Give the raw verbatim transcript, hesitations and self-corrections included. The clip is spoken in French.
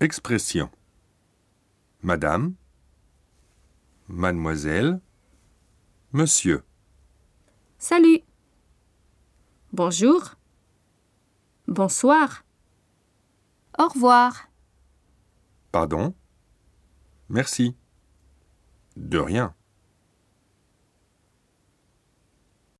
Expression. Madame, mademoiselle, monsieur. Salut. Bonjour. Bonsoir. Au revoir. Pardon. Merci. De rien.